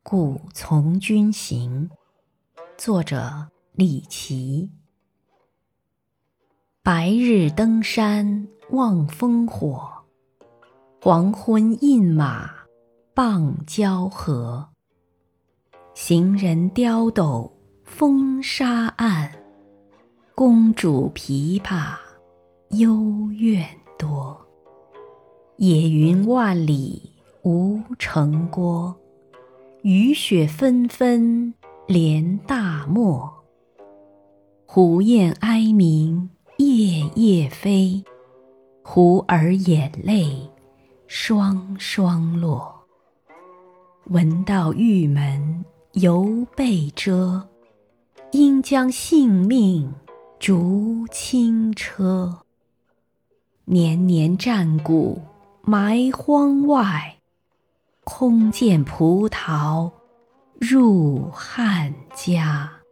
故从军行。作者李琦。白日登山望烽火，黄昏饮马傍交河。行人刁斗风沙暗，公主琵琶幽怨多。野云万里无城郭，雨雪纷纷连大漠。胡雁哀鸣夜夜飞，胡儿眼泪双双落。闻道玉门犹被遮，应将性命逐轻车。年年战鼓埋荒外，空见葡萄入汉家。